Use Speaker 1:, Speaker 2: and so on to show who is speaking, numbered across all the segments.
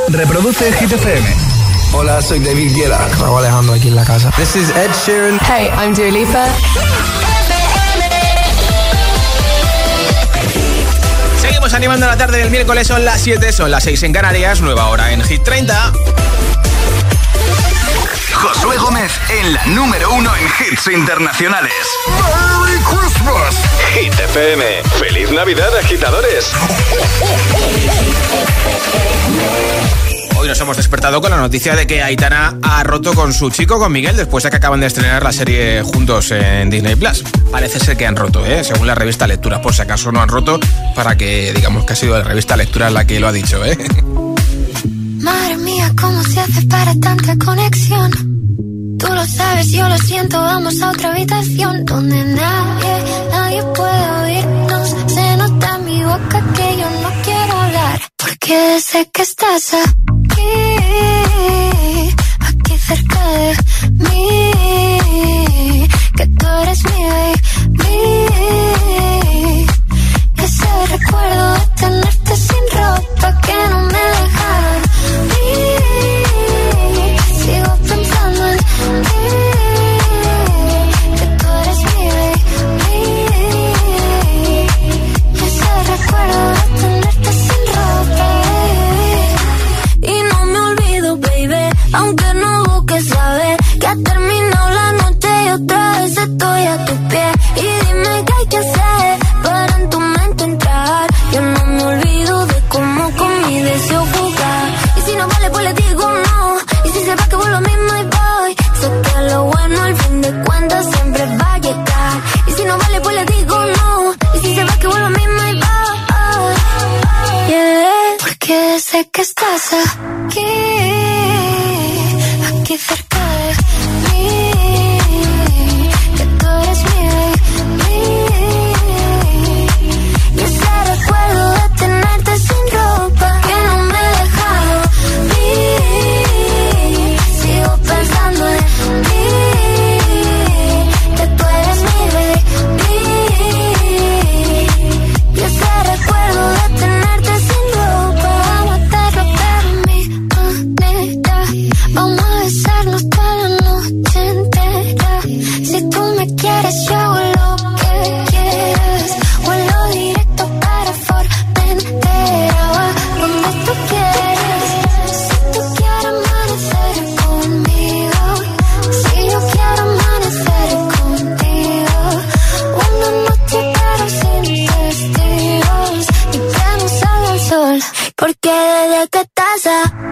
Speaker 1: Reproduce Hit FM.
Speaker 2: Hola, soy David Guetta. Raúl Alejandro aquí en la casa. This is Ed Sheeran.
Speaker 3: Hey, I'm Dua Lipa.
Speaker 4: Seguimos animando la tarde del miércoles, son las 7, son las 6 en Canarias, nueva hora en Hit 30.
Speaker 1: Josué Gómez en la número 1 en hits internacionales. ¡Merry Christmas!
Speaker 5: Hit FM. ¡Feliz Navidad, agitadores!
Speaker 4: Hoy nos hemos despertado con la noticia de que Aitana ha roto con su chico, con Miguel, después de que acaban de estrenar la serie juntos en Disney Plus. Parece ser que han roto, según la revista Lecturas, por si acaso no han roto, para que digamos que ha sido la revista Lecturas la que lo ha dicho,
Speaker 6: Madre mía, ¿cómo se hace para tanta conexión? Tú lo sabes, yo lo siento, vamos a otra habitación donde nadie puede oírnos. Se nota en mi boca que yo no quiero hablar, porque sé que estás aquí cerca de mí, que tú eres mi baby. Ese recuerdo de tenerte sin ropa que no me dejaron ir. Sigo pensando en ti, que tú eres mi baby. Ese recuerdo de tenerte sin ropa, baby. Y no me olvido, baby, aunque no busques saber que ha terminado la noche y otra vez estoy a tus pies. Y dime qué hay que hacer para en tu mente entrar. Yo no me olvido de cómo con mi deseo jugar. Y si no vale, pues le digo no. Y si se va, que vuelvo mismo y voy. Sé que lo bueno al fin de cuentas siempre va a llegar. Y si no vale, pues le digo no. Y si se va, que vuelvo mismo y voy. Yeah. Porque sé que estás aquí cerca de mí, que tú eres mi baby. Y ese recuerdo de tenerte sin ropa que no me he dejado ir. Sigo pensando en ti, que tú eres mi baby. Y ese recuerdo de tenerte sin ropa, vamos a hacerlo pero mi manera. Vamos a besarnos toda la noche entera. Si tú me quieres, yo hago lo que quieras. Vuelo directo para Formentera, va donde tú quieras. Si tú quieres amanecer conmigo, si yo quiero amanecer contigo. Una noche pero sin testigos y que no salga el sol. Porque desde que estás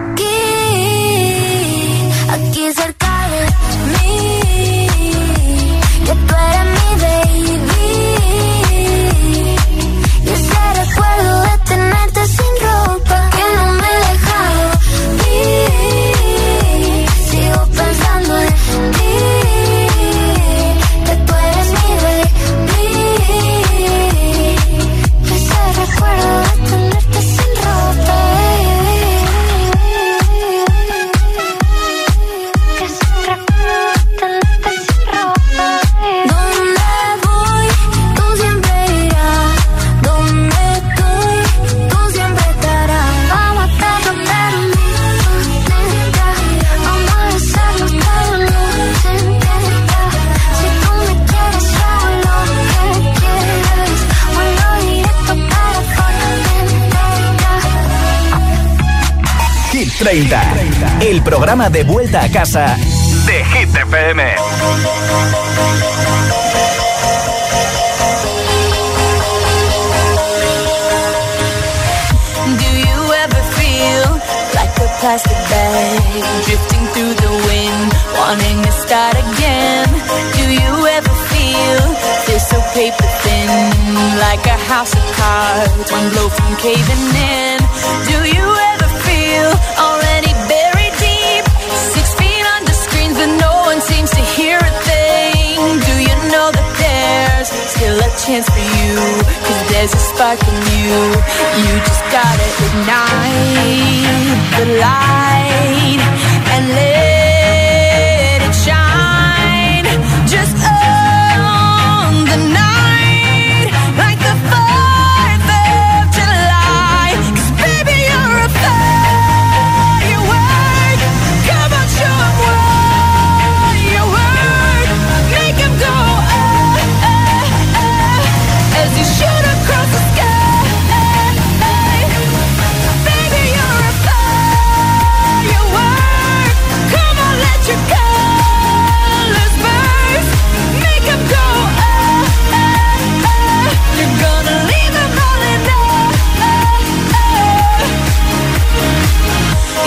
Speaker 6: aquí cerca de mí, que tú eres mi baby. Y ese recuerdo de tenerte sin ropa que no me he dejado ir. Sigo pensando en ti, que tú eres mi baby. Y ese recuerdo de tenerte sin ropa, que ese recuerdo de tenerte sin ropa. Donde voy, tú siempre irás. Donde estoy, tú siempre estarás. Vamos a hacerlo pero mi manera. Vamos a besarnos toda la noche entera. Si tú me quieres, yo hago lo que quieras. Vuelo directo para Formentera.
Speaker 1: Hit 30, el programa de vuelta a casa de Hit FM.
Speaker 7: Do you ever feel like a plastic bag drifting through the wind, wanting to start again? Do you ever feel this so paper thin, like a house of cards, one blow from caving in? Do you ever feel already buried deep, 6 feet under screens but no one seems to hear a thing? Do you know that there's still a chance for you, 'cause there's a spark in you. You just gotta ignite the light and let it shine. Just on the night, like the 4th of July. 'Cause baby, you're a fire.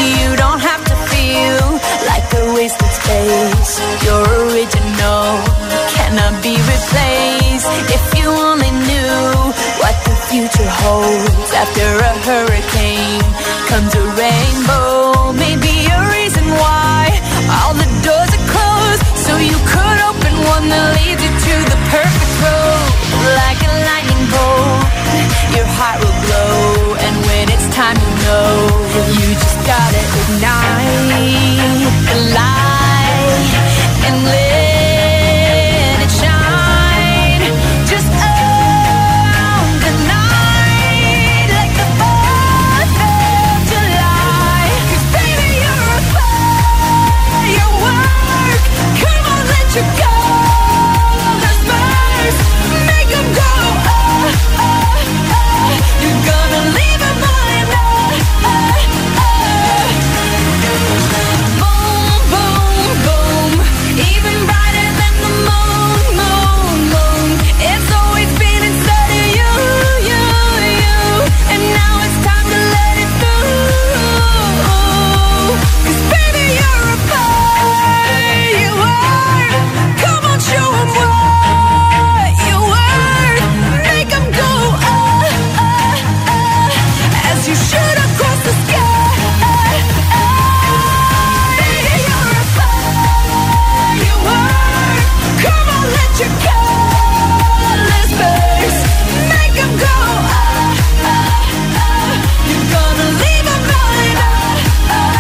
Speaker 7: You don't have to feel like a wasted space. You're original, cannot be replaced. If you only knew what the future holds. After a hurricane comes a rainbow. Maybe a reason why all the doors are closed, so you could open one that leads you to the perfect road. Like a lightning bolt, your heart will glow, and when it's time to know, you just gotta ignite the light and let it shine. Just own the night like the 4th of July. 'Cause baby, you're a firework. Come on, let your colors burst. Make them go, oh, oh, oh. You're gonna leave them all Boom, boom, boom. Even brighter than the moon, moon, moon. It's always been inside of you, you, you. And now it's time to let it through. 'Cause baby, you're a firework. Come on, show 'em what you worth. Make 'em go, oh, oh, oh. As you shoot across the sky. You're a firework. Come on, let your colors burst. Make 'em go, oh, oh, oh. You're gonna leave 'em rolling, oh, oh,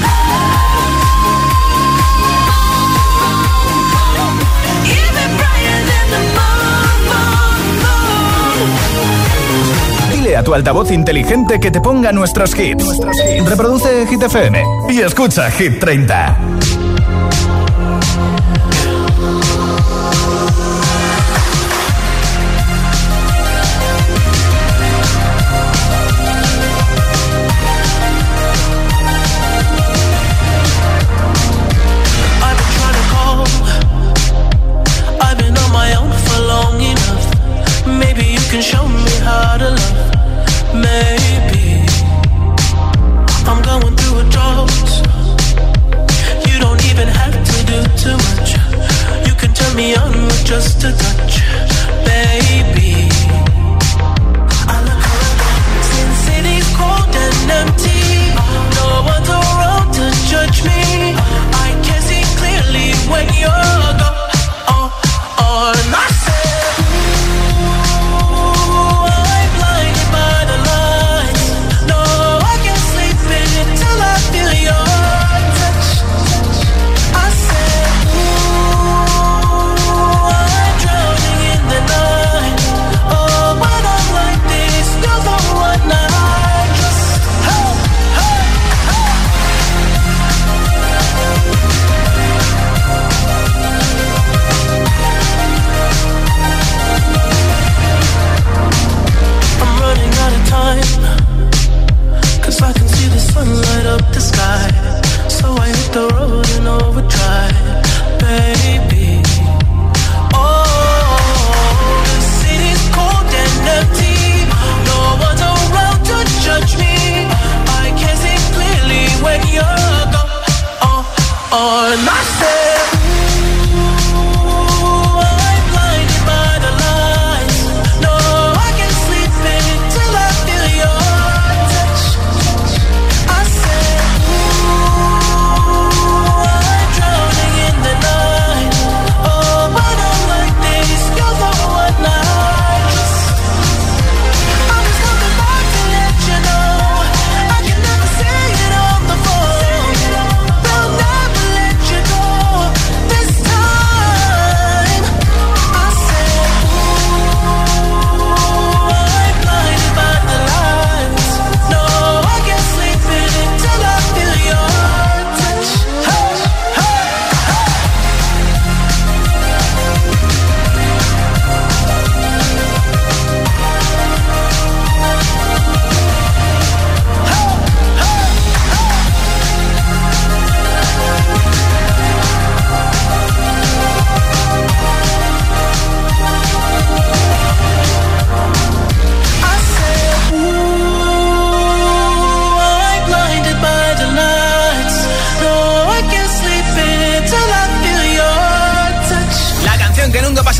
Speaker 7: oh. Even brighter than the moon, moon, moon.
Speaker 1: Dile a tu altavoz inteligente que te ponga nuestros hits. Reproduce Hit FM y escucha Hit 30.
Speaker 3: I've been trying to call. I've been on my own for long enough. Maybe you can show me how to love. Maybe I'm going through a drought. You don't even have to do too much. You can turn me on with just a touch, baby. I look around, since city's cold and empty. No one's around to judge me. I can see clearly when you're gone. And I said, ooh, I'm blinded by the lights. No, I can't sleep until I feel your touch. I said, ooh, I'm drowning in the night. Oh, when I'm like this, you're the one I trust. Hey, hey, hey. I'm running out of time, 'cause I can see the sun light up the sky. So I hit the road in overdrive, baby. Oh, the city's cold and empty. No one's around to judge me. I can see clearly when you're gone. And I said, ooh, I'm blinded by the lights. No, I can't sleep until I feel your touch. I said, ooh, I'm drowning in the night. Oh, when I'm like this, you're the one I trust. I'm just looking back to let you know I can never say it on the phone. They'll never let you go.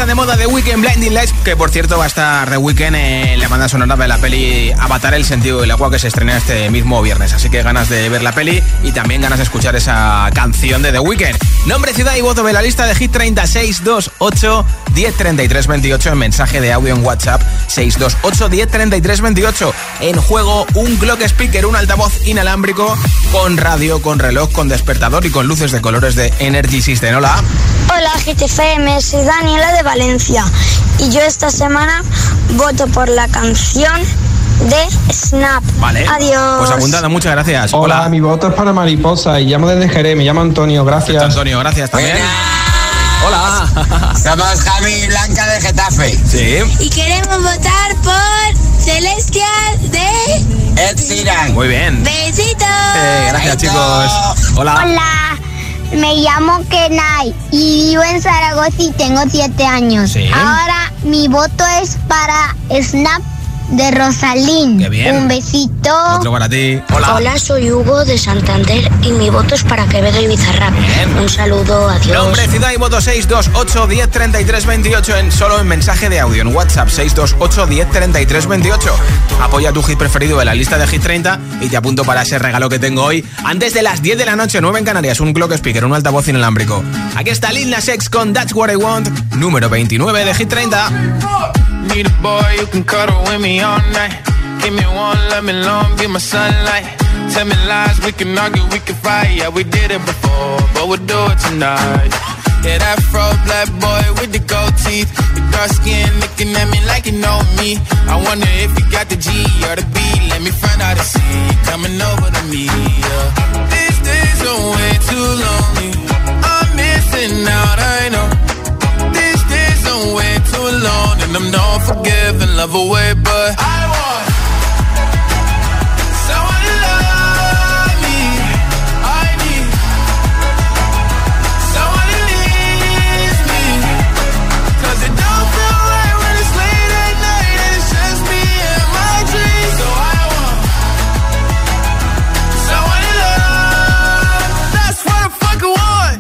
Speaker 4: de moda The Weeknd, Blinding Lights, que por cierto va a estar The Weeknd en la banda sonora de la peli Avatar, el sentido del agua, que se estrena este mismo viernes. Así que ganas de ver la peli y también ganas de escuchar esa canción de The Weeknd. Nombre, ciudad y voto de la lista de Hit 30, 628 1033 28 en mensaje de audio en WhatsApp, 628 1033 28. En juego un clock speaker, un altavoz inalámbrico con radio, con reloj, con despertador y con luces de colores de Energy System. Hola.
Speaker 8: Hola GTFM, soy Daniela de Valencia y yo esta semana voto por la canción de Snap.
Speaker 4: Vale.
Speaker 8: Adiós.
Speaker 4: Pues apuntado, muchas gracias.
Speaker 9: Hola, mi voto es para Mariposa y llamo desde Jerez, me llamo Antonio, gracias.
Speaker 4: Antonio, gracias también. Hola.
Speaker 10: Somos Javi y Blanca de Getafe.
Speaker 4: Sí.
Speaker 11: Y queremos votar por Celestial de
Speaker 10: Ed Sheeran.
Speaker 4: Muy bien.
Speaker 11: Besitos.
Speaker 4: Gracias, chicos. Hola.
Speaker 8: Hola, me llamo Kenai y vivo en Zaragoza y tengo 7 años.
Speaker 4: Sí.
Speaker 8: Ahora mi voto es para Snap de Rosalín.
Speaker 4: Qué bien.
Speaker 8: Un besito.
Speaker 4: Otro para ti. Hola.
Speaker 12: Hola, soy Hugo de Santander y mi voto es para Quevedo y Bizarrap.
Speaker 4: Bien.
Speaker 12: Un saludo, adiós.
Speaker 4: Nombre, ciudad y voto 628 1033 28 solo en mensaje de audio en WhatsApp, 628 1033 28. Apoya tu hit preferido de la lista de Hit 30 y te apunto para ese regalo que tengo hoy antes de las 10 de la noche, 9 en Canarias, un clock speaker, un altavoz inalámbrico. Aquí está Lil Nas X con That's What I Want, número 29 de Hit 30.
Speaker 3: Need a boy who can cuddle with me all night. Give me one, let me long, be my sunlight. Tell me lies, we can argue, we can fight. Yeah, we did it before, but we'll do it tonight. Yeah, that fro black boy with the gold teeth, the dark skin looking at me like you know me. I wonder if you got the G or the B. Let me find out and see you coming over to me. Yeah. These days are way too lonely. I'm missing out, I know. Way too alone, and I'm not forgiving, love away, but I want someone to love me. I need someone who needs me, 'cause it don't feel right when it's late at night and it's just me and my dreams. So I want someone to love. That's what I fucking want.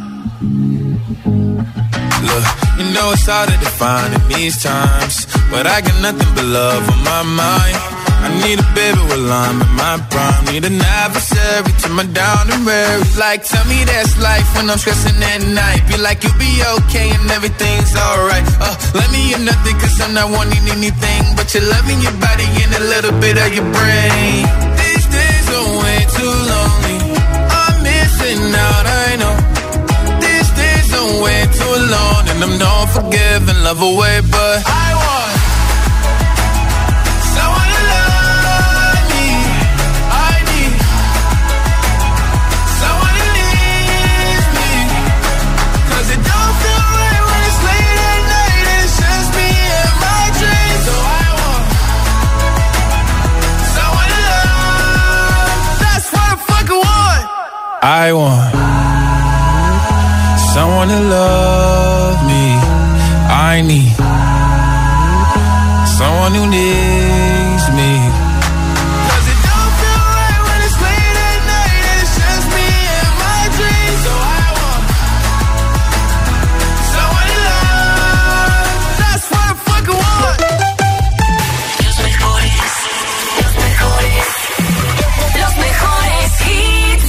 Speaker 3: Look, you know it's hard to define in these times, but I got nothing but love on my mind. I need a baby while I'm in my prime. Need an adversary to my down and weary. Like, tell me that's life when I'm stressing at night. Be like, you'll be okay and everything's alright. Let me in nothing 'cause I'm not wanting anything but you're loving your body and a little bit of your brain. These days are way too lonely. I'm missing out, I know. Way too alone, and I'm not forgiving, love away, but I want someone to love me. I need someone who needs me, 'cause it don't feel right when it's late at night and it's just me and my dreams. So I want someone to love. That's what I fucking want. I want someone to love me. I need someone who needs me. 'Cause it don't feel right when it's late at night and it's just me and my dreams. So I want someone to love. That's what I fucking want.
Speaker 7: Los mejores hits.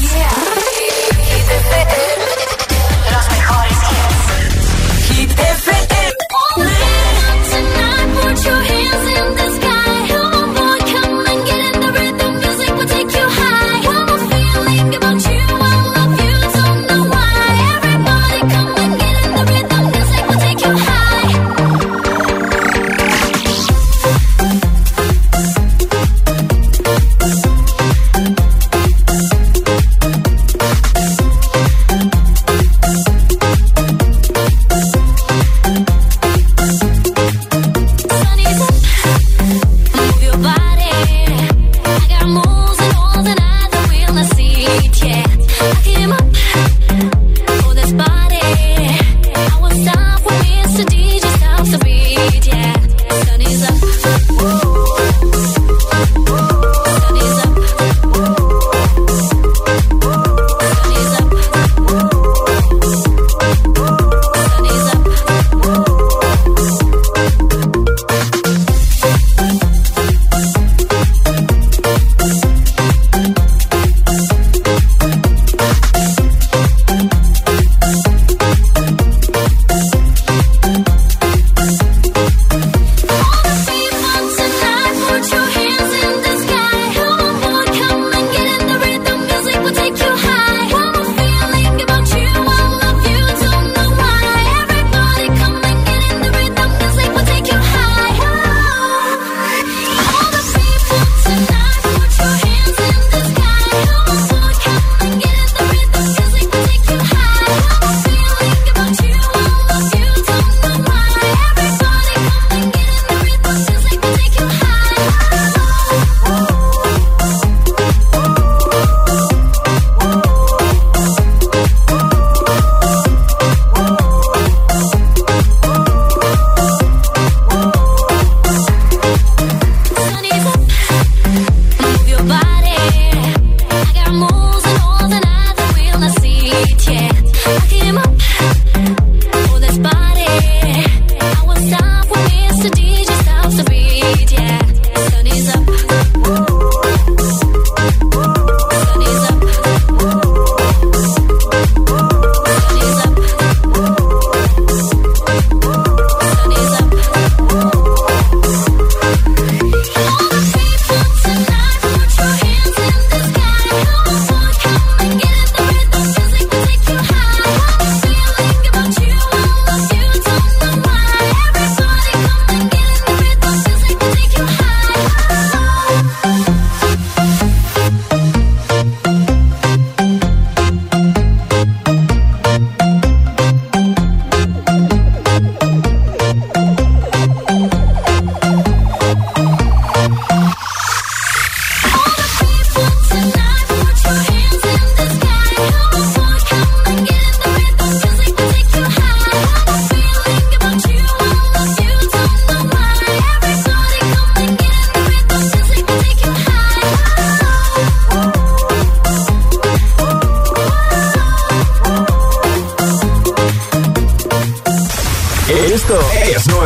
Speaker 7: Los mejores hits. Hit FM.
Speaker 6: Tonight, put your hands in the sky.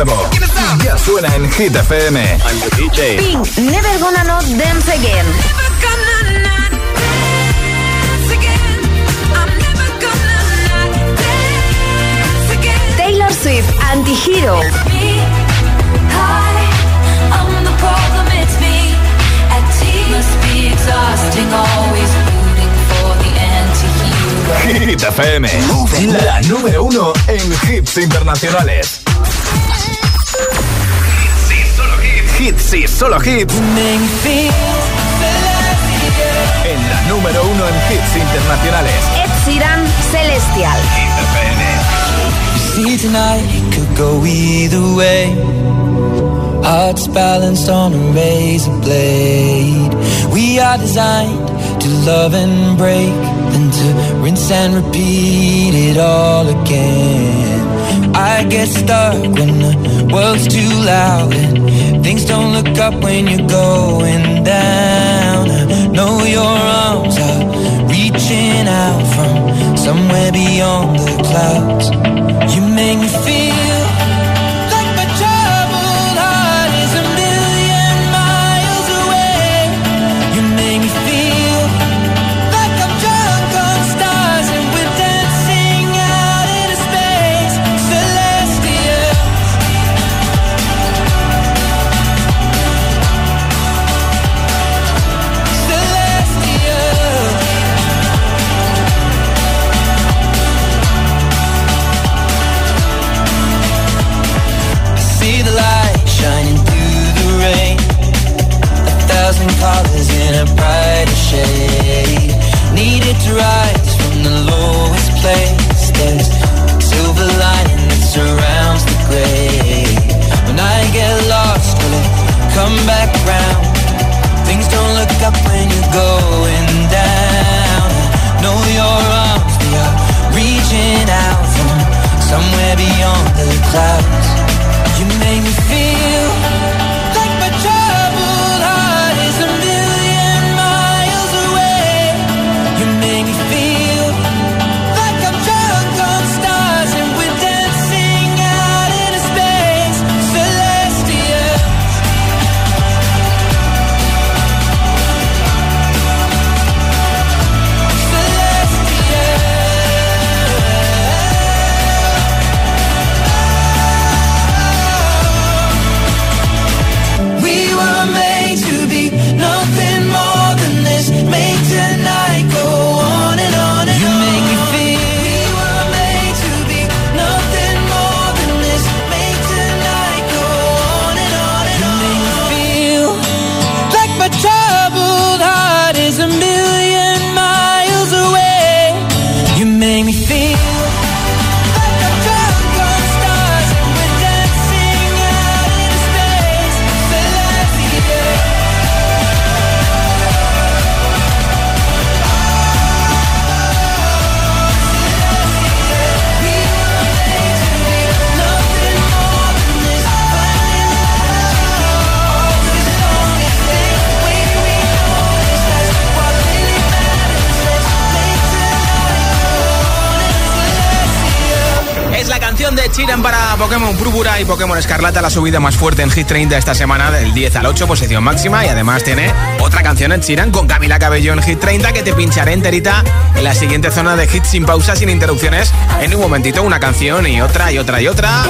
Speaker 1: nuevo ya suena en Hit FM.
Speaker 13: I'm the DJ.
Speaker 14: Pink, Never Gonna Not Dance Again. Taylor Swift, Anti-Hero.
Speaker 1: Hit FM, la número 1 en hits internacionales. Hits y solo hits. En la número 1 en hits internacionales.
Speaker 14: Ed Sheeran, Celestial.
Speaker 1: Hit FM.
Speaker 15: See tonight it could go either way. Hearts balanced on a razor blade. We are designed to love and break, then to rinse and repeat it all again. I get stuck when the world's too loud and things don't look up when you're going down. I know your arms are reaching out from somewhere beyond the clouds. You make me feel like my troubled heart is a million miles away. You make me feel like I'm drunk on stars and we're dancing out into space. Celestial. Celestial. See the light shining through the rain. 1,000 colors in a brighter shade. Needed to rise from the lowest place. There's a silver lining that surrounds the gray. When I get lost, will it come back round? Things don't look up when you're going down. I know your arms, they are reaching out from somewhere beyond the clouds. You make me feel like my troubled heart is a million miles away. You make me feel like I'm drunk on stars and we're dancing out into space. Celestial. We were made to be nothing more than this. Make tonight go on and on and on. You make me feel. We were made to be nothing more than this. Make tonight go on and on and on. You make me feel like my troubled heart is a million miles away. You make me feel.
Speaker 4: De Chiran para Pokémon Púrpura y Pokémon Escarlata, la subida más fuerte en Hit 30 esta semana, del 10 al 8, posición máxima. Y además tiene otra canción en Chiran con Camila Cabello en Hit 30 que te pincharé enterita en la siguiente zona de hits sin pausa, sin interrupciones. En un momentito una canción y otra y otra y otra.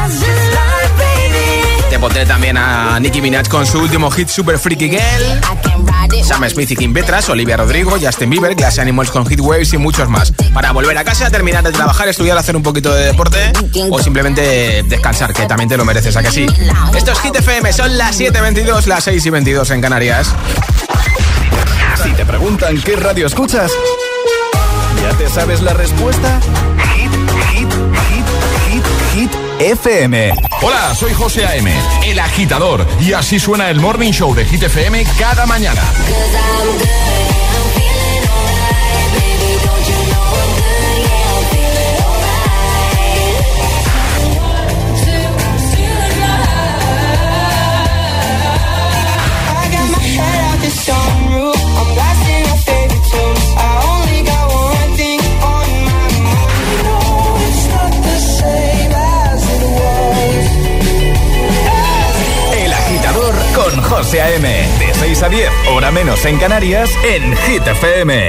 Speaker 4: Te pondré también a Nicki Minaj con su último hit Super Freaky Girl, Sam Smith y Kim Petras, Olivia Rodrigo, Justin Bieber, Glass Animals con Heat Waves y muchos más. Para volver a casa, terminar de trabajar, estudiar, hacer un poquito de deporte o simplemente descansar, que también te lo mereces, ¿a que sí? Esto es Hit FM, son las 7:22, las 6:22 en Canarias.
Speaker 1: Si te preguntan qué radio escuchas, ¿ya te sabes la respuesta? Hit FM.
Speaker 16: Hola, soy José A.M., el agitador, y así suena el Morning Show de Hit FM cada mañana.
Speaker 1: 10, hora menos en Canarias, en Hit FM.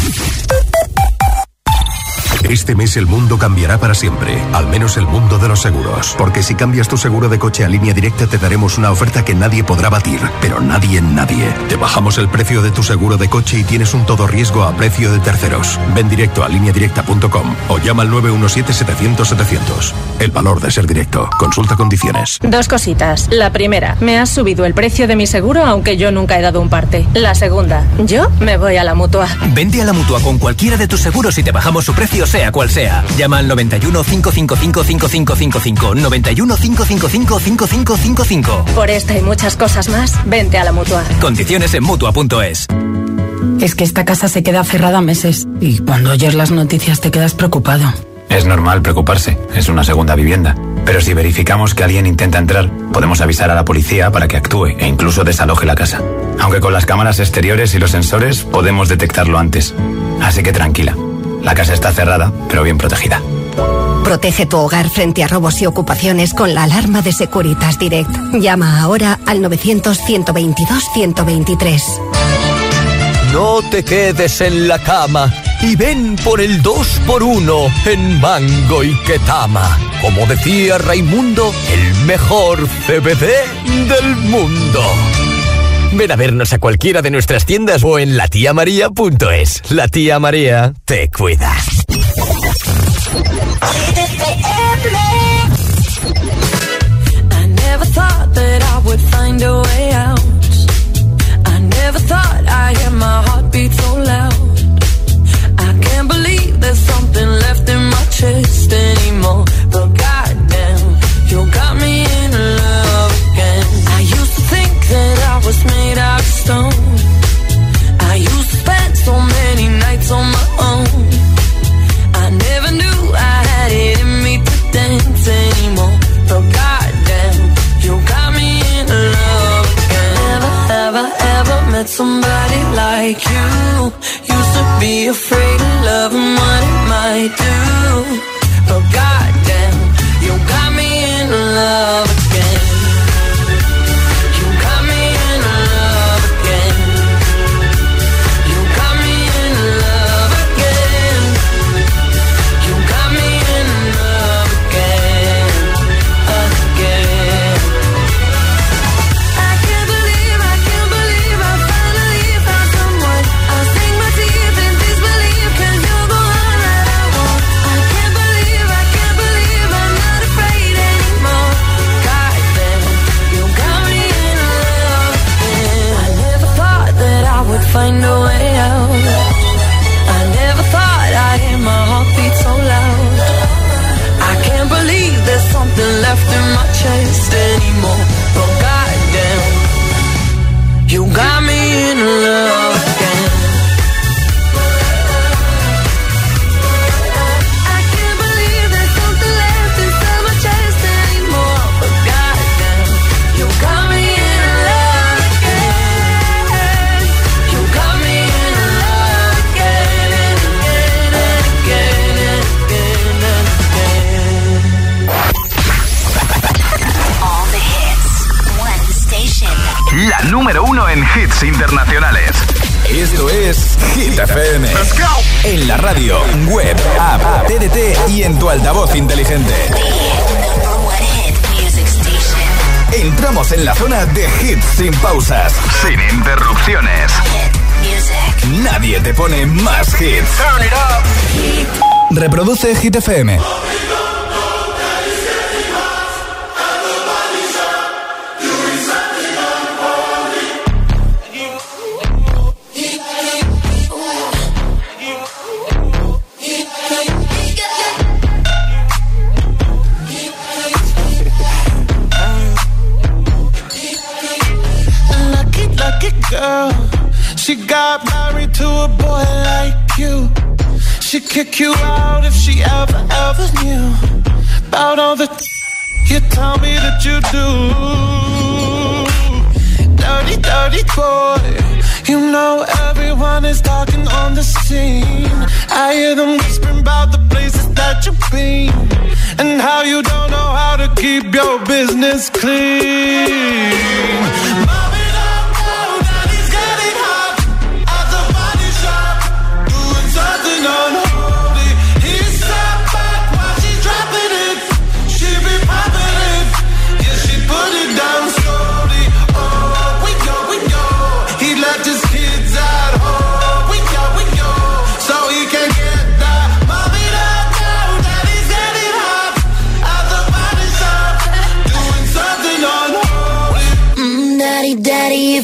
Speaker 13: Este mes el mundo cambiará para siempre, al menos el mundo de los seguros. Porque si cambias tu seguro de coche a Línea Directa te daremos una oferta que nadie podrá batir, pero nadie. Te bajamos el precio de tu seguro de coche y tienes un todo riesgo a precio de terceros. Ven directo a lineadirecta.com o llama al 917-700-700. El valor de ser directo. Consulta condiciones.
Speaker 17: Dos cositas. La primera, me has subido el precio de mi seguro aunque yo nunca he dado un parte. La segunda, yo me voy a la Mutua.
Speaker 18: Vente a la Mutua con cualquiera de tus seguros y te bajamos su precio sea cual sea. Llama al 91 555 5555. 91 555 5555.
Speaker 17: Por esta y muchas cosas más, vente a la Mutua.
Speaker 18: Condiciones en Mutua.es.
Speaker 19: Es que esta casa se queda cerrada meses y cuando oyes las noticias te quedas preocupado.
Speaker 20: Es normal preocuparse, es una segunda vivienda. Pero si verificamos que alguien intenta entrar, podemos avisar a la policía para que actúe e incluso desaloje la casa. Aunque con las cámaras exteriores y los sensores podemos detectarlo antes. Así que tranquila. La casa está cerrada, pero bien protegida.
Speaker 21: Protege tu hogar frente a robos y ocupaciones con la alarma de Securitas Direct. Llama ahora al 900-122-123.
Speaker 22: No te quedes en la cama y ven por el 2x1 en Mango y Ketama. Como decía Raimundo, el mejor CBD del mundo. Ven a vernos a cualquiera de nuestras tiendas o en latiamaria.es. La tía María te cuida.
Speaker 7: I never thought that I would find a way out. I never thought I'd hear my heartbeat so loud. I can't believe there's something left in my chest anymore. But goddamn, you got me in love again. I used to think that I was made out of stone. I used to spend so many nights on my own. I never knew I had it in me to dance anymore. But goddamn, you got me in love again. Never, ever, ever met somebody like you. Used to be afraid of love and what it might do. But goddamn, you got me in love again. You got me in love again. You got me in love again. You got me in love again, again. I can't believe I finally found someone. I'll sink my teeth in disbelief 'cause you're the one that I want. I can't believe I'm not afraid anymore. Goddamn, you got me in love again. I never thought that I would find a way out. I never thought I'd hear my heartbeat so loud. I can't believe there's something left in my chest anymore. But goddamn, you got me in love again. I can't believe there's something left inside my chest anymore. But goddamn, you got me in love again. You got me in love again and again and again and again and again.
Speaker 23: All the hits, one station.
Speaker 1: La número 1 en hits internacionales. Esto es Hit FM. Let's go. En la radio, web, app, TDT y en tu altavoz inteligente. Entramos en la zona de hits sin pausas, sin interrupciones. Nadie te pone más hits. Turn it up. Reproduce Hit FM.
Speaker 3: Lucky girl, she got married to a boy like you. She'd kick you out if she ever knew about all the you tell me that you do. Dirty, dirty boy, you know everyone is talking on the scene. I hear them whispering about the places that you've been and how you don't know how to keep your business clean. Mommy, don't know that he's got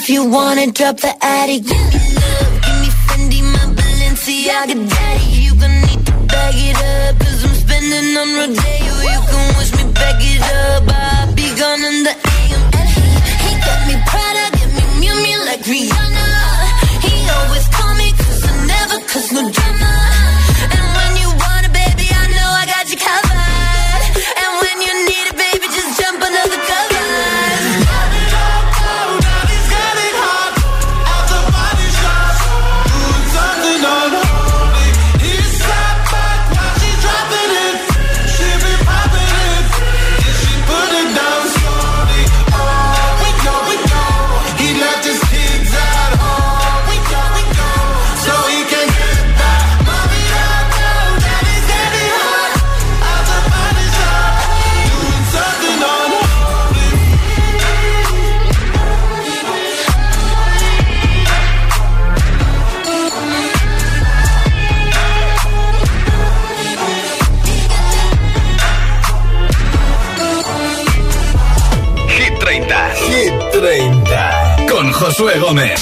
Speaker 7: If you wanna drop the attic, give me love, give me Fendi, my Balenciaga daddy. You gon' need to bag it up, 'cause I'm spending on Rodeo. You can wish me back it up, I'll be gone in the AM. And he got me Prada, get me Miu Miu like Rihanna. He always call me 'cause I never, 'cause no drama. And when you want it, baby, I know I got you covered. And when you need it, baby, just jump under the covers.
Speaker 1: Con Josué Gómez.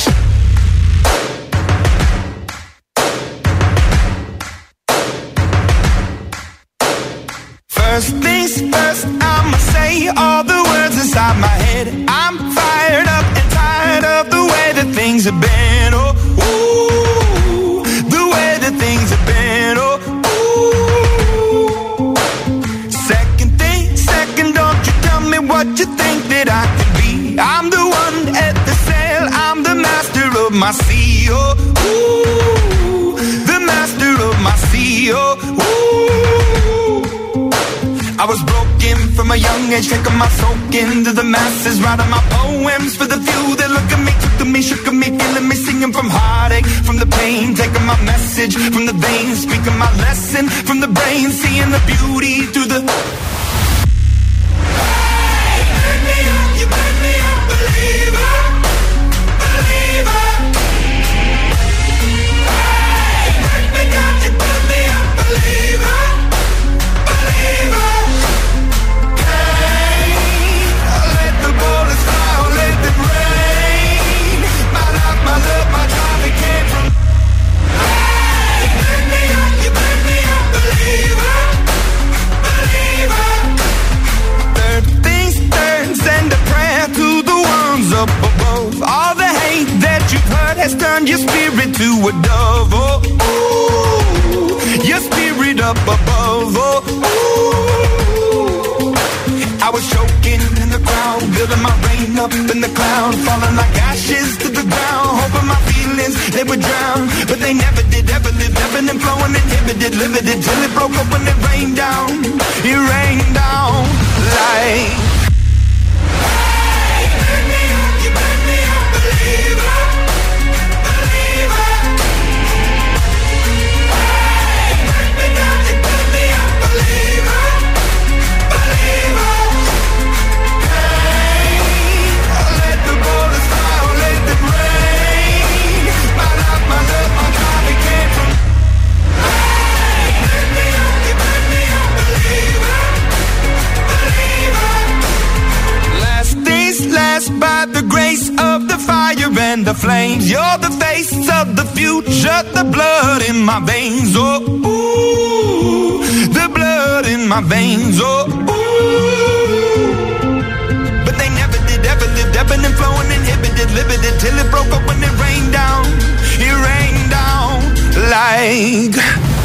Speaker 3: First things first, I'ma say all the words inside my head. I'm fired up and tired of the way that things have been. Oh, ooh, the way that things have been. Oh, ooh. Second, don't you tell me what you think that I can be. I'm the one at the sail, I'm the master of my sea. Oh, ooh, the master of my sea. Oh, ooh. I was broken from a young age, taking my soak into the masses, writing my poems for the few that look at me, took to me, shook at me, feeling me, singing from heartache, from the pain, taking my message from the veins, speaking my lesson from the brain, seeing the beauty through the... You burn me up, believer, believer. Hey, break me down, you burn me up, believer, believer. Hey, let the bullets fly, let them rain. My life, my love, my drive, it came from. Hey, burn me up, you burn me up, believer, believer. Third things third, send a prayer to the ones up above. All the hate that you've heard has turned your spirit to a dove. Oh, ooh, your spirit up above. Oh, ooh. I was choking in the crowd, building my rain up in the cloud, falling like ashes to the ground, hoping my feelings they would drown, but they never did. Ever lived, ebbing and flowing, inhibited, limited, till it broke up when it rained down. It rained down like. By the grace of the fire and the flames, you're the face of the future, the blood in my veins. Oh, ooh, the blood in my veins. Oh, ooh. But they never did, ever lived, ebbing and flowing, inhibited, limited, till it broke up when it rained down. It rained down like.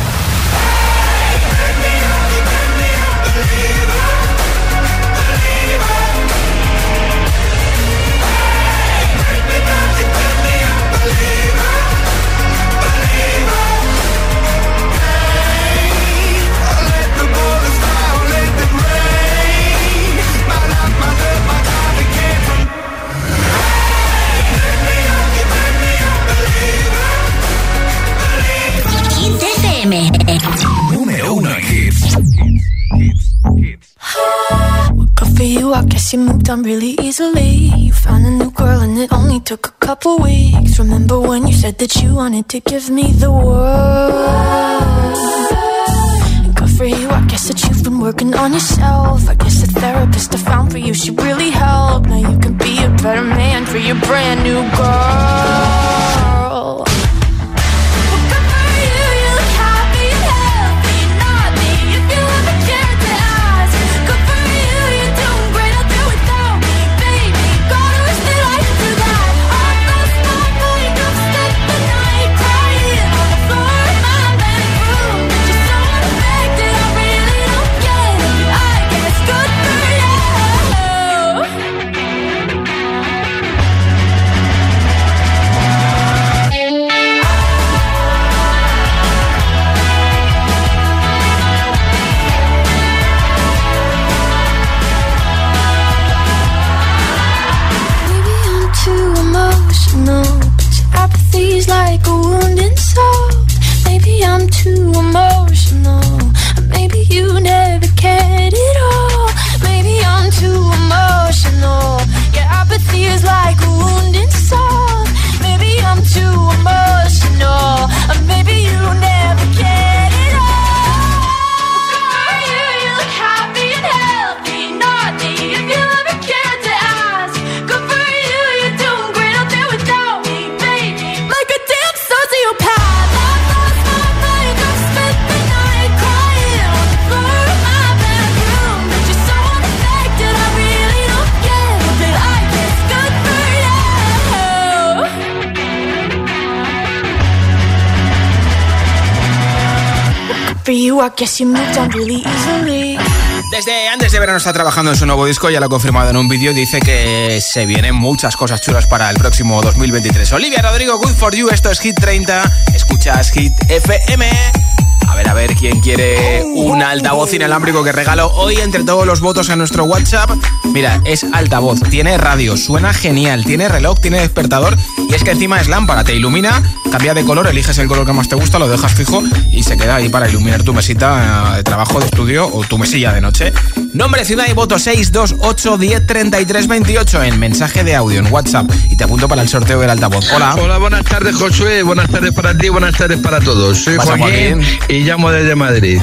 Speaker 1: Número 1 en hits.
Speaker 2: Good for you, I guess you moved on really easily. You found a new girl and it only took a couple weeks. Remember when you said that you wanted to give me the world? And good for you, I guess that you've been working on yourself. I guess the therapist artist I found for you, she really helped. Now you can be a better man for your brand new girl. Like a wounded soul. Maybe I'm too emotional. Maybe you never cared at all. Maybe I'm too emotional. Your apathy is like a wounded soul. Maybe I'm too emotional. Maybe you never cared at all. For you, you look happy and healthy. Not me, if you ever cared to ask. Good for you, you're doing great out there without me, baby. Like a damn sociopath. I've lost my mind. I've spent the night crying on the floor of my bedroom. But you're so unaffected, I really don't get it. But I guess good for you. For you, I guess you moved on really easily.
Speaker 4: Desde antes de verano está trabajando en su nuevo disco, ya lo ha confirmado en un vídeo, dice que se vienen muchas cosas chulas para el próximo 2023. Olivia Rodrigo, Good For You, esto es Hit 30, escuchas Hit FM. A ver quién quiere un altavoz inalámbrico que regalo hoy entre todos los votos en nuestro WhatsApp. Mira, es altavoz, tiene radio, suena genial, tiene reloj, tiene despertador y es que encima es lámpara, te ilumina, cambia de color, eliges el color que más te gusta, lo dejas fijo y se queda ahí para iluminar tu mesita de trabajo, de estudio o tu mesilla de noche. Nombre, ciudad y voto 628 10 33 28 en mensaje de audio en WhatsApp y te apunto para el sorteo del altavoz. Hola.
Speaker 5: Hola, buenas tardes, Josué, buenas tardes para ti, buenas tardes para todos. Soy Joaquín y llamo desde Madrid.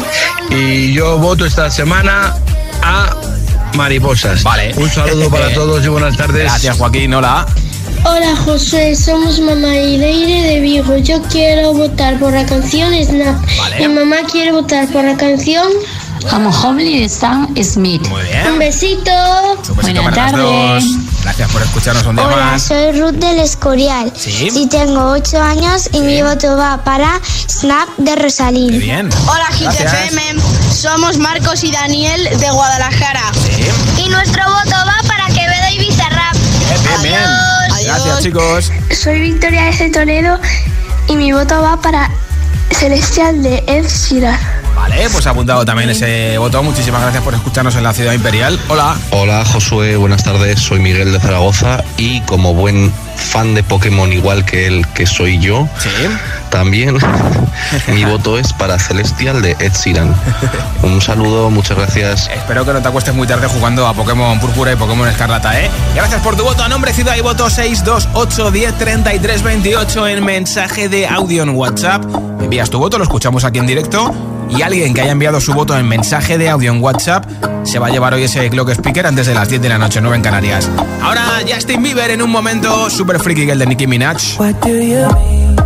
Speaker 5: Y yo voto esta semana a Mariposas.
Speaker 4: Vale.
Speaker 5: Un saludo para todos y buenas tardes.
Speaker 4: Gracias, Joaquín. Hola.
Speaker 9: Hola, José. Somos mamá y Leire de Vigo. Yo quiero votar por la canción Snap.
Speaker 4: Vale.
Speaker 9: Mi mamá quiere votar por la canción
Speaker 10: Como Homely de Sam Smith.
Speaker 4: Muy bien.
Speaker 9: Un besito.
Speaker 10: Buenas tardes.
Speaker 4: Gracias por escucharnos un día
Speaker 8: Hola,
Speaker 4: más.
Speaker 8: soy Ruth del Escorial.
Speaker 4: ¿Sí?
Speaker 8: Y tengo 8 años y mi voto va para Snap de Rosalín.
Speaker 4: Qué bien.
Speaker 24: Hola, Hit
Speaker 4: Gracias.
Speaker 24: FM. Somos Marcos y Daniel de Guadalajara.
Speaker 4: Sí.
Speaker 8: Y nuestro voto va para Quevedo y Bizarrap.
Speaker 4: Bien. Gracias, chicos.
Speaker 9: Soy Victoria de Toledo y mi voto va para Celestial de Ed Sheeran.
Speaker 4: Vale, pues ha apuntado también ese voto. Muchísimas gracias por escucharnos en la Ciudad Imperial. Hola.
Speaker 25: Hola, Josué, buenas tardes. Soy Miguel de Zaragoza y como buen fan de Pokémon igual que él, que soy yo,
Speaker 4: ¿sí?
Speaker 25: También mi voto es para Celestial de Ed Sheeran. Un saludo, muchas gracias.
Speaker 4: Espero que no te acuestes muy tarde jugando a Pokémon Púrpura y Pokémon Escarlata, ¿eh? Gracias por tu voto. A nombre, ciudad y voto 628 10 33 28 en mensaje de audio en WhatsApp. Me envías tu voto, lo escuchamos aquí en directo. Y alguien que haya enviado su voto en mensaje de audio en WhatsApp se va a llevar hoy ese Clock Speaker antes de las 10 de la noche, 9 en Canarias. Ahora Justin Bieber en un momento, Super Freaky Girl de Nicki Minaj.
Speaker 3: What do you mean?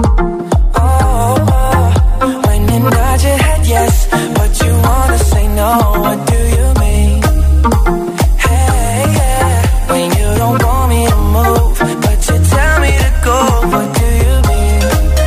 Speaker 3: When you nod your head yes, but you wanna say no. What do you mean? Hey, yeah. When you don't want me to move, but you tell me to go. What do you mean?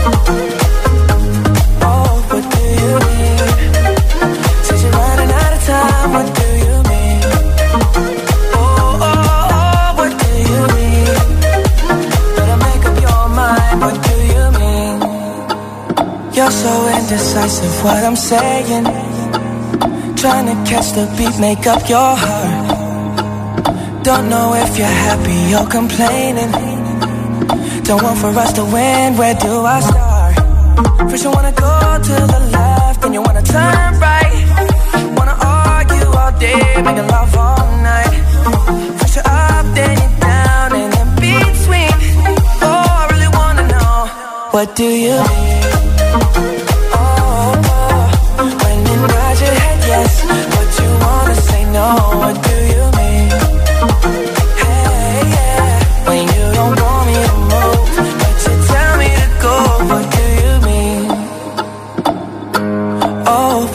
Speaker 3: Oh, what do you mean? Said you're running out of time. What do you mean? Oh, what do you mean? Better make up your mind. What do you mean? You're so indecisive, what I'm saying. Trying to catch the beat, make up your heart. Don't know if you're happy or complaining. Don't want for us to win, where do I start? First you wanna go to the left, then you wanna turn right. Wanna argue all day, making love all night. First you're up, then you're down, and in between. Oh, I really wanna know, what do you mean? When you nod your head yes, but you wanna say no. What do you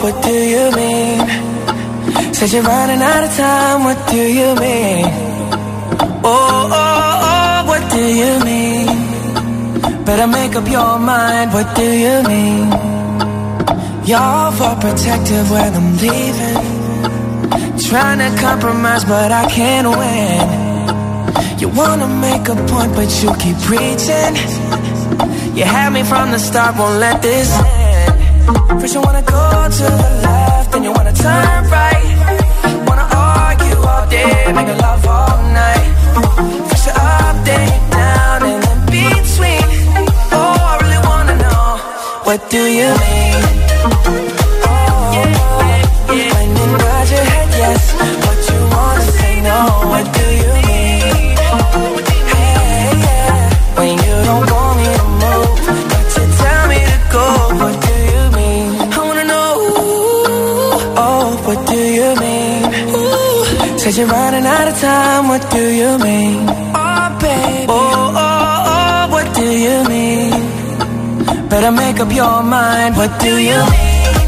Speaker 3: what do you mean? Said you're running out of time, what do you mean? Oh, what do you mean? Better make up your mind, what do you mean? You're overprotective when I'm leaving. Trying to compromise, but I can't win. You wanna make a point, but you keep preaching. You had me from the start, won't let this end. First you wanna go to the left, then you wanna turn right. Wanna argue all day, make love all night. First you're up, then you're down, and in between. Oh, I really wanna know, what do you mean? When you nod your head yes, but you wanna say no, what do you mean? Hey, yeah. When you don't want me to move, but you tell me to go, what do you mean? I wanna know, oh, what do you mean? Said you're running out of time, what do you mean? Oh, baby, oh, what do you mean? Better make up your mind, what do you mean?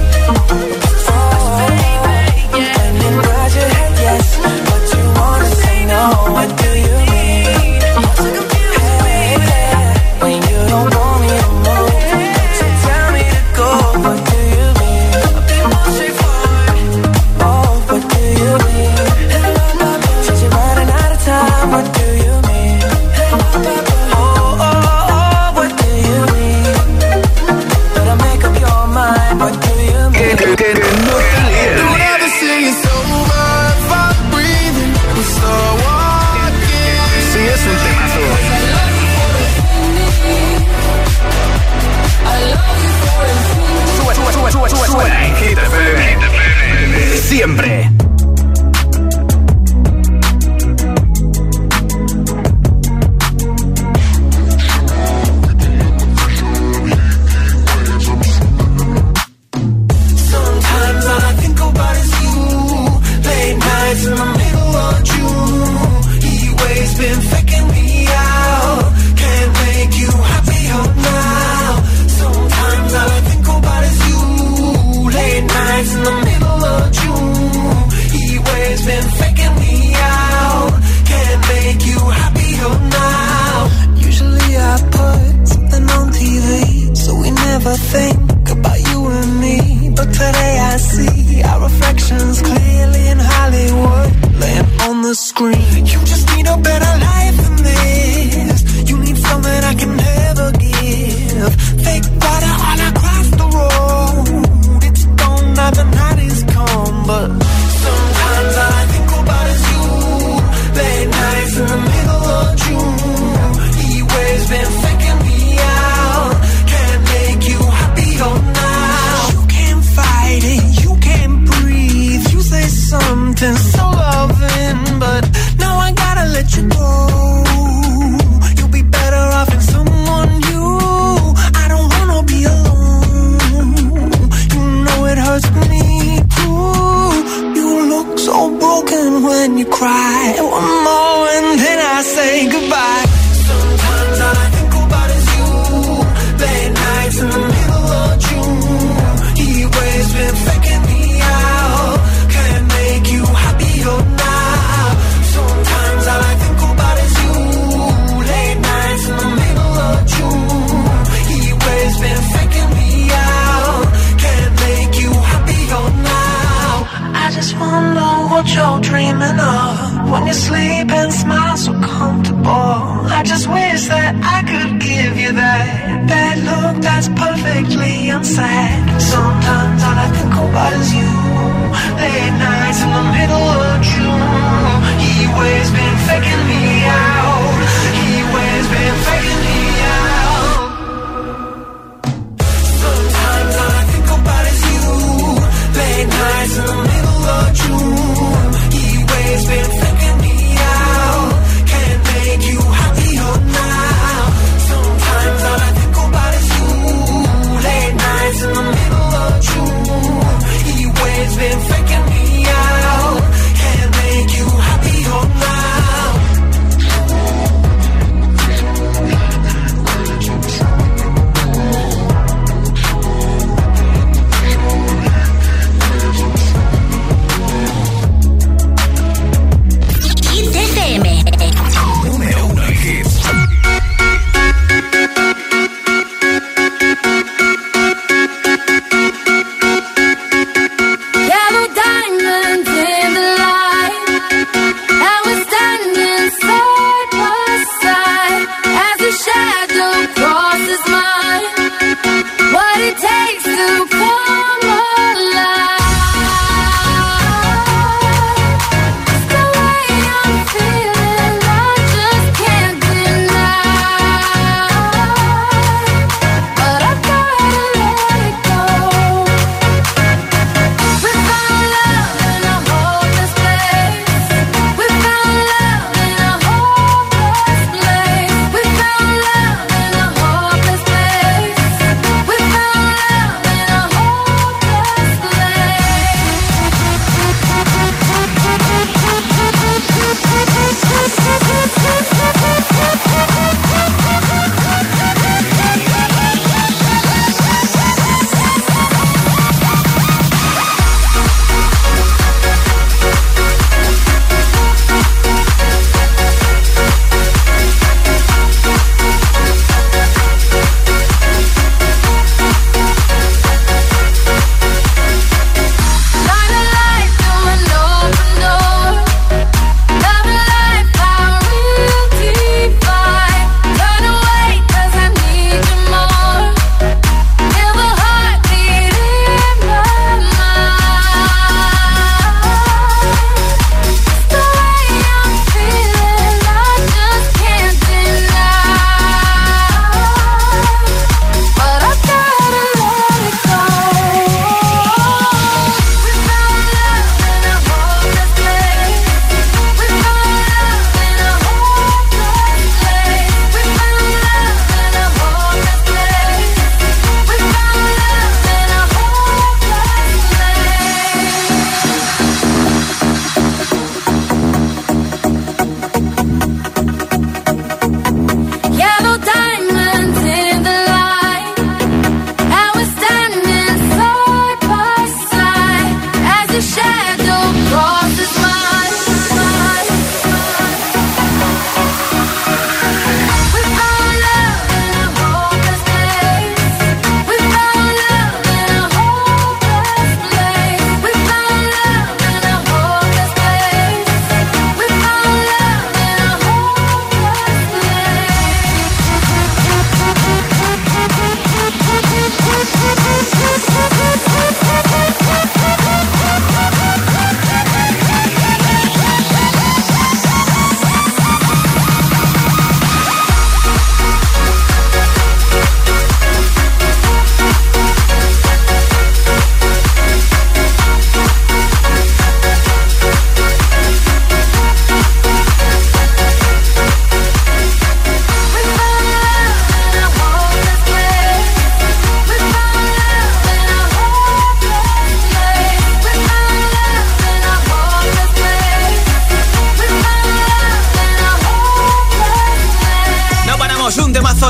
Speaker 3: What do you mean? Hey, yeah. When you don't want me to move, so tell me to go. What do you mean? I'll be more straightforward. Oh, what do you mean? Since you're running out of time, what do you mean? Oh, what do you mean? Better make up your mind. What do you mean?
Speaker 6: Don't ever say it's over if I'm breathing. We start walking.
Speaker 4: Sí, es un temazo. Suena en Hit FM. Siempre.
Speaker 3: Think about you and me, but today I see our reflections clearly in Hollywood, laying on the screen. You just need a better life than this. You need something I can never give. Fake water all across the road. It's gone now, the night is come, but sometimes all I think about is you. Late nights in the middle of June. He waves been faking me out. Now you can't fight it, you can't breathe. You say something so loving, but now I gotta let you go. You'll be better off in someone new. I don't wanna be alone. You know it hurts me too. You look so broken when you cry. One more and then I say goodbye. Sometimes all I think about is you. Late nights in the middle of June. He always been faking me out. Can't make you happier now. Sometimes all I think about is you. Late nights in the middle of June. He always been faking me out. Can't make you happier now. I just wonder what you're dreaming of when you sleep and smile so comfortable. I just wish that I could give you that look that's perfectly unsaid. Sometimes all I think about is you. Late nights in the middle of June. He always been faking me out. He always been faking me out. Sometimes all I think about is you. Late nights in the middle of June. He always been faking me out. Can't make you happier now. Sometimes all I think about is you. Late nights in the middle of June.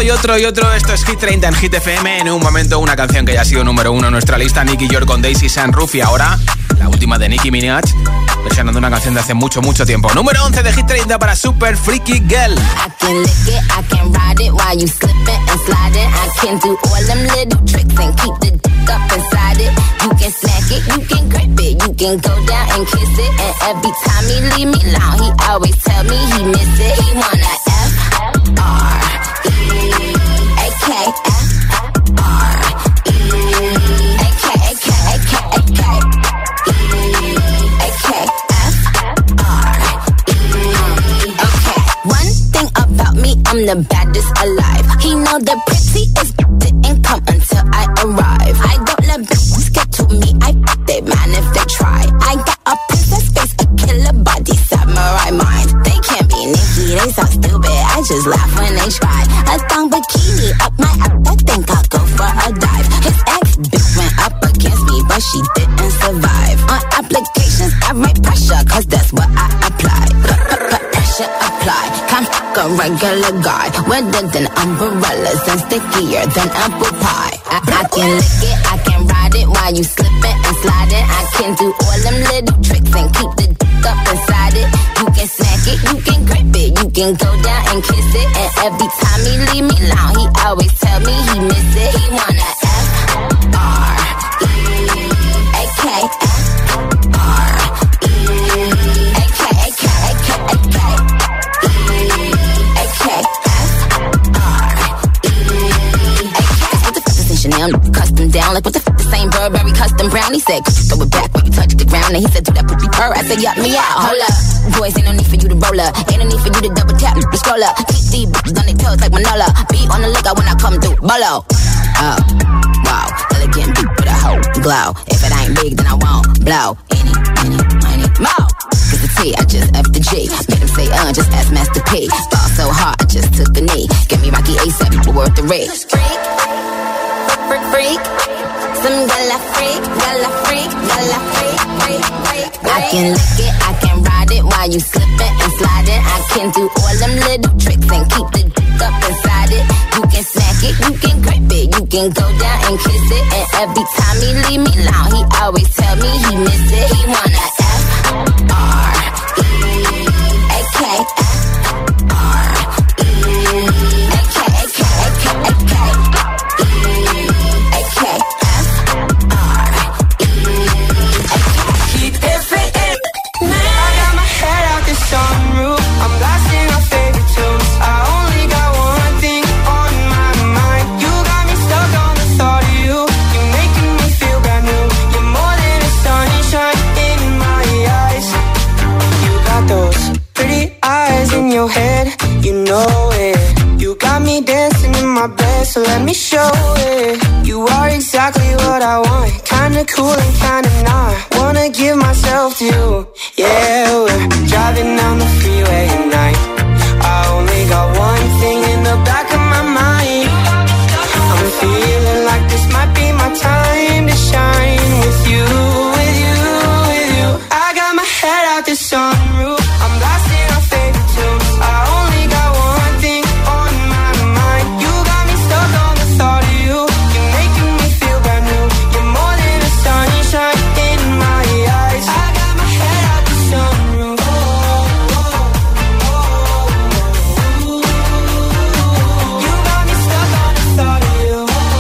Speaker 4: y otro. Esto es Hit 30 en Hit FM. En un momento, una canción que ya ha sido número 1 en nuestra lista, Nicky York con Daisy Sunroof. Y ahora, la última de Nicki Minaj, versionando una canción de hace mucho tiempo. Número 11 de Hit 30 para Super Freaky Girl.
Speaker 11: I can lick it, I can ride it while you slipping and sliding. I can do all them little tricks and keep the dick up inside it. You can smack it, you can grip it, you can go down and kiss it. And every time he leave me alone, he always tell me he miss it. He wanna I'm the baddest alive. He know the prettiest didn't come until I arrive. I don't let bitches get to me. I f*** they man if they try. I got a princess face, a killer body, samurai mind. They can't be Nicki, they so stupid. I just laugh when they try. A thong bikini up my ass, I think I'll go for a dive. His ex-bitch went up against me, but she didn't survive. On applications, I write pressure, cause that's what I apply. Pressure apply. Can't fuck a regular guy. Wetter than umbrellas and stickier than apple pie. I can lick it, I can ride it while you slipping and sliding. I can do all them little tricks and keep the dick up inside it. You can smack it, you can grip it, you can go down and kiss it. And every time he leave me alone, he always tell me he miss it. He wanna F-R-E-A-K-F. Custom down, like what the f*** the same Burberry custom brown. He said, throw it back when you touch the ground. And he said, do that pussy purr. I said, yup me out, hold up. Boys, ain't no need for you to roll up. Ain't no need for you to double tap, to scroll up. Keep these bitches on their toes like Manola. Be on the lookout when I come through, bolo. Oh, wow, elegant beat with a hoe glow. If it ain't big, then I won't blow. Any, more. Cause the T, I just F the G. Made him say, just ask Master P. Fall so hard, I just took a knee. Get me Rocky ASAP, worth the risk. Freak, some gala freak. I can lick it, I can ride it while you slipping and sliding. I can do all them little tricks and keep the dick up inside it. You can smack it, you can grip it, you can go down and kiss it. And every time he leave me alone, he always tell me he miss it. He wanna F-R-E-A-K-F.
Speaker 6: So let me show it. You are exactly what I want. Kinda cool and kinda not. Wanna give myself to you. Yeah, we're driving down the freeway at night. I only got one thing in the back of my mind. I'm feeling like this might be my time to shine with you, with you, with you. I got my head out the sunroof. I'm blasting our favorite tunes. I only got one thing on my mind. You got me stuck on the thought of you. You're making me feel brand new. You're more than a sunshine in my eyes. I got my head out the sunroof. You got me stuck on the thought of you.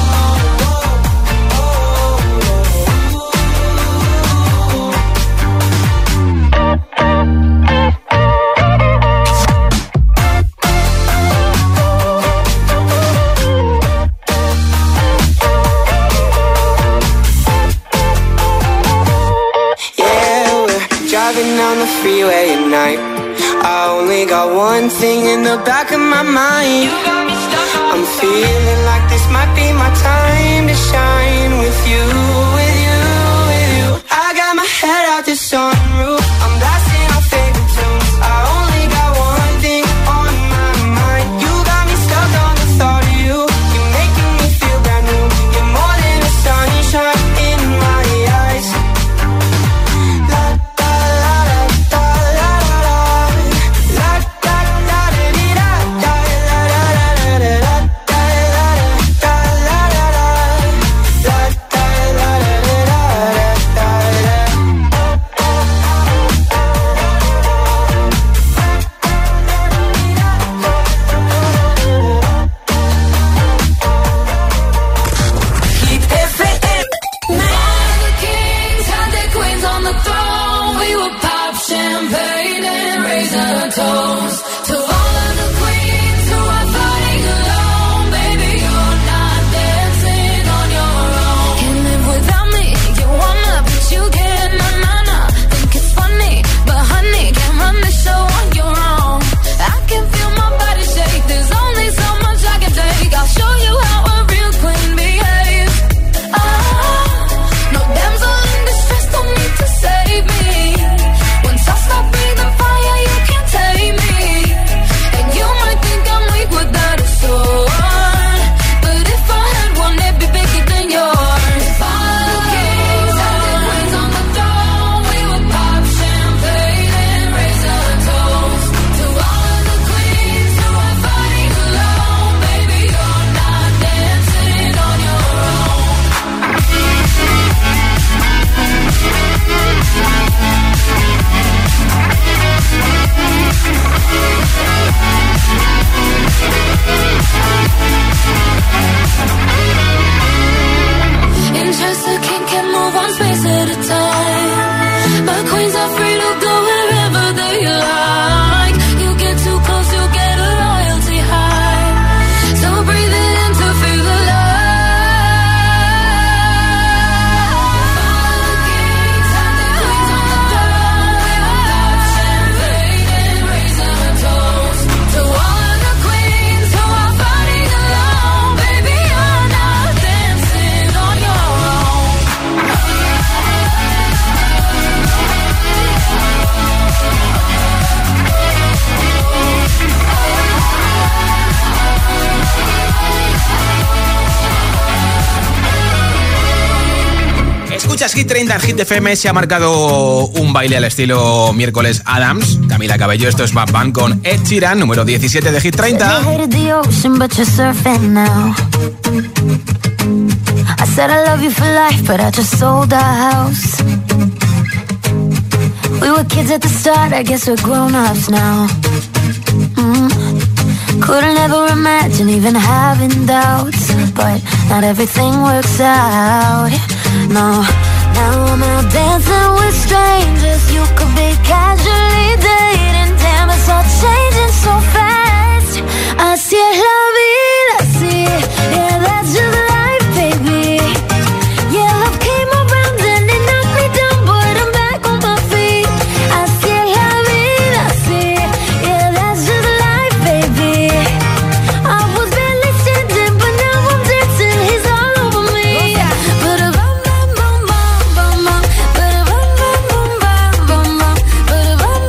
Speaker 6: Driving down the freeway at night. I only got one thing in the back of my mind. I'm feeling like this might be my time to shine with you, with you, with you. I got my head out the sunroof. I'm blasting our favorite tunes. I only got one thing on my mind. You got me stuck on the thought of you. You're making me feel brand new. You're more than a sunshine in my eyes.
Speaker 4: Hit 30 en Hit FM se ha marcado un baile al estilo miércoles Adams. Camila Cabello, esto es Bad Bunny con Ed Sheeran, número 17 de Hit 30.
Speaker 2: I said I love you for life, but I just sold our house. We were kids at the start, I guess we're grown-ups now. Couldn't ever imagine even having doubts, but not everything works out. No, now I'm out dancing with strangers. You could be casually dating. Damn, it's all changing so fast. Así es la vida, así. Yeah, that's just life, baby. Yeah, love came around and it knocked me down, but I'm back on my feet. Así es la vida, así. Yeah, that's just life, baby. I was barely standing, but now I'm dancing. He's all over me. But bum bum bum bum bum, but bum bum bum bum bum, but bum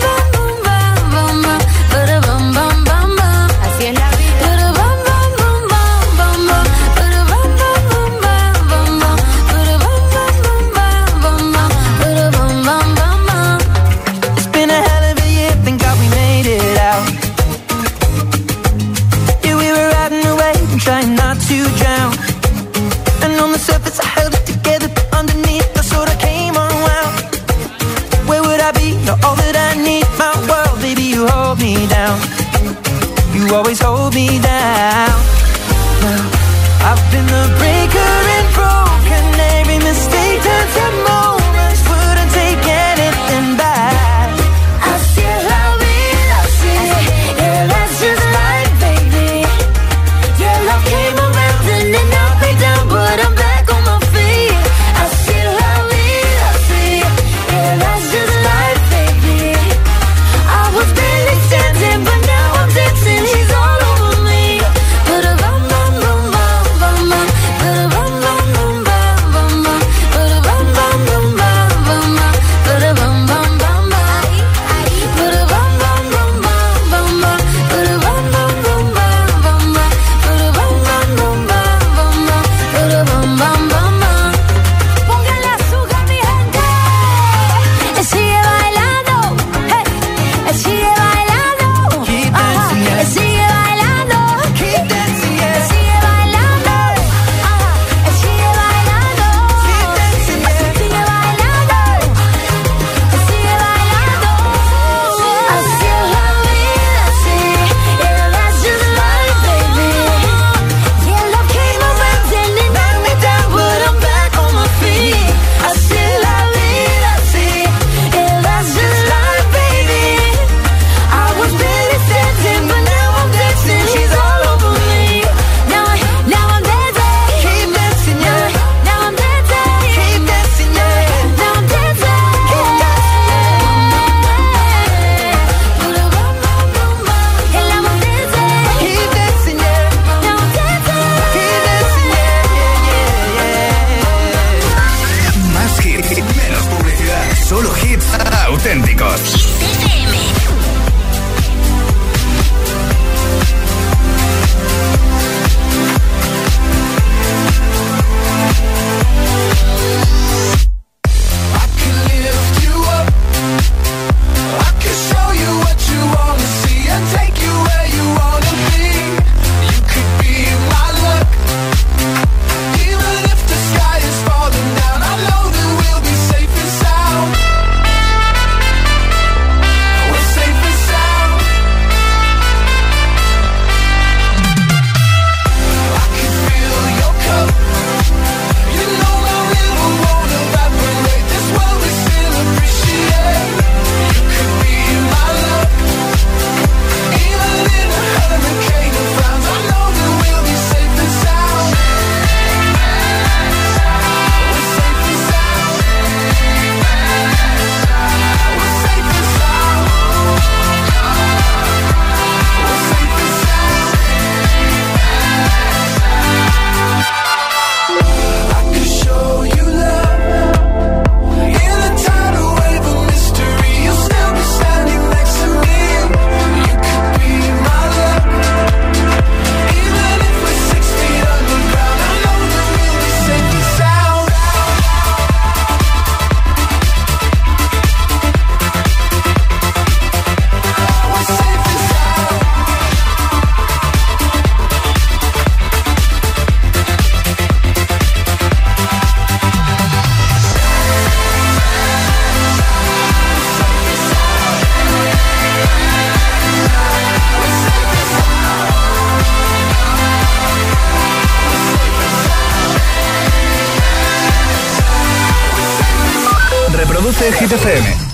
Speaker 1: Reproduce Hit FM.